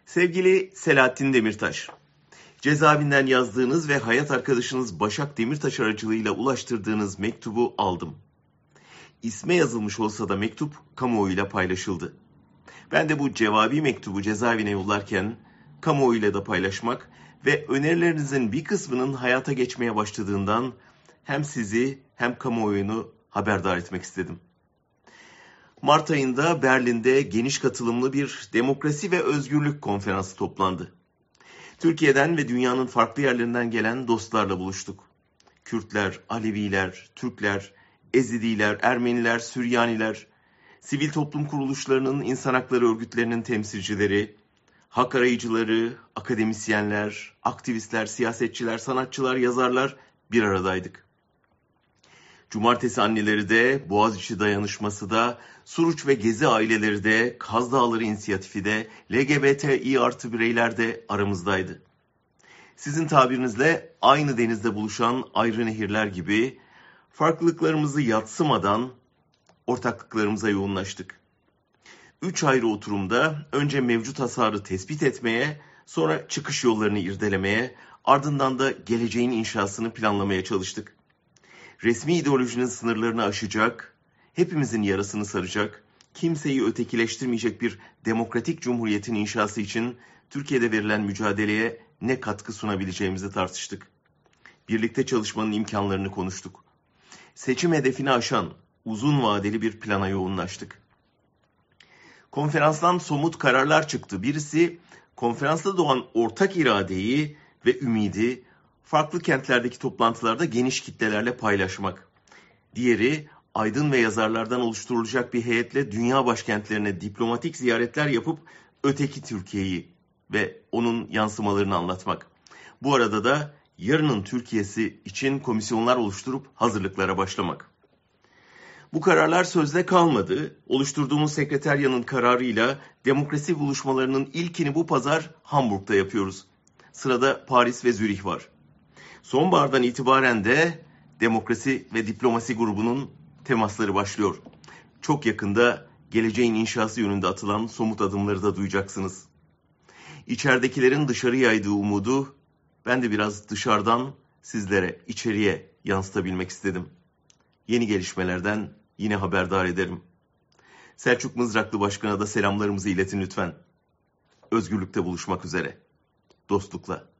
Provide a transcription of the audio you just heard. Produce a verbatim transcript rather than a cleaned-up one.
Sevgili Selahattin Demirtaş, cezaevinden yazdığınız ve hayat arkadaşınız Başak Demirtaş aracılığıyla ulaştırdığınız mektubu aldım. İsme yazılmış olsa da mektup kamuoyuyla paylaşıldı. Ben de bu cevabi mektubu cezaevine yollarken kamuoyuyla da paylaşmak ve önerilerinizin bir kısmının hayata geçmeye başladığından hem sizi hem kamuoyunu haberdar etmek istedim. Mart ayında Berlin'de geniş katılımlı bir demokrasi ve özgürlük konferansı toplandı. Türkiye'den ve dünyanın farklı yerlerinden gelen dostlarla buluştuk. Kürtler, Aleviler, Türkler, Ezidiler, Ermeniler, Süryaniler, sivil toplum kuruluşlarının, insan hakları örgütlerinin temsilcileri, hak arayıcıları, akademisyenler, aktivistler, siyasetçiler, sanatçılar, yazarlar bir aradaydık. Cumartesi anneleri de, Boğaziçi Dayanışması da, Suruç ve Gezi aileleri de, Kaz Dağları İnisiyatifi de, L G B T İ artı bireyler de aramızdaydı. Sizin tabirinizle aynı denizde buluşan ayrı nehirler gibi farklılıklarımızı yadsımadan ortaklıklarımıza yoğunlaştık. Üç ayrı oturumda önce mevcut hasarı tespit etmeye, sonra çıkış yollarını irdelemeye, ardından da geleceğin inşasını planlamaya çalıştık. Resmi ideolojinin sınırlarını aşacak, hepimizin yarasını saracak, kimseyi ötekileştirmeyecek bir demokratik cumhuriyetin inşası için Türkiye'de verilen mücadeleye ne katkı sunabileceğimizi tartıştık. Birlikte çalışmanın imkanlarını konuştuk. Seçim hedefini aşan uzun vadeli bir plana yoğunlaştık. Konferanstan somut kararlar çıktı. Birisi konferansta doğan ortak iradeyi ve ümidi farklı kentlerdeki toplantılarda geniş kitlelerle paylaşmak. Diğeri aydın ve yazarlardan oluşturulacak bir heyetle dünya başkentlerine diplomatik ziyaretler yapıp öteki Türkiye'yi ve onun yansımalarını anlatmak. Bu arada da yarının Türkiye'si için komisyonlar oluşturup hazırlıklara başlamak. Bu kararlar sözde kalmadı. Oluşturduğumuz sekreteryanın kararıyla demokrasi buluşmalarının ilkini bu pazar Hamburg'da yapıyoruz. Sırada Paris ve Zürih var. Sonbahardan itibaren de demokrasi ve diplomasi grubunun temasları başlıyor. Çok yakında geleceğin inşası yönünde atılan somut adımları da duyacaksınız. İçeridekilerin dışarı yaydığı umudu ben de biraz dışarıdan sizlere, içeriye yansıtabilmek istedim. Yeni gelişmelerden yine haberdar ederim. Selçuk Mızraklı Başkan'a da selamlarımızı iletin lütfen. Özgürlükte buluşmak üzere. Dostlukla.